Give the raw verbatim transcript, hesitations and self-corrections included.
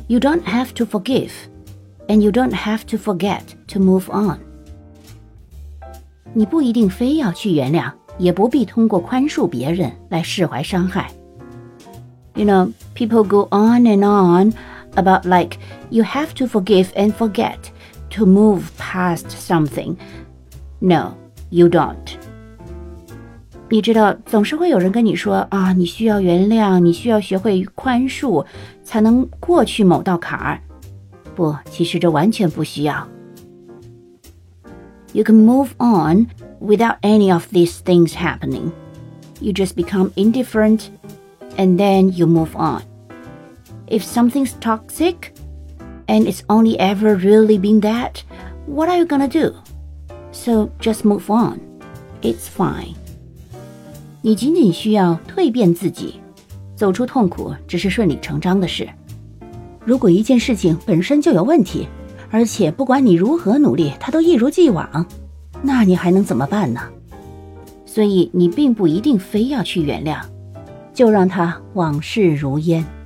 You don't have to forgive, and you don't have to forget to move on. 你不一定非要去原谅，也不必通过宽恕别人来释怀伤害。You know, people go on and on about like, you have to forgive and forget to move past something. No, you don't. 你知道，总是会有人跟你说啊，你需要原谅，你需要学会宽恕，才能过去某道坎儿。不，其实这完全不需要。You can move on without any of these things happening. You just become indifferent, and then you move on. If something's toxic, and it's only ever really been that, what are you gonna do? So just move on. It's fine. 你仅仅需要蜕变自己，走出痛苦只是顺理成章的事。如果一件事情本身就有问题，而且不管你如何努力，它都一如既往，那你还能怎么办呢？所以你并不一定非要去原谅，就让它往事如烟。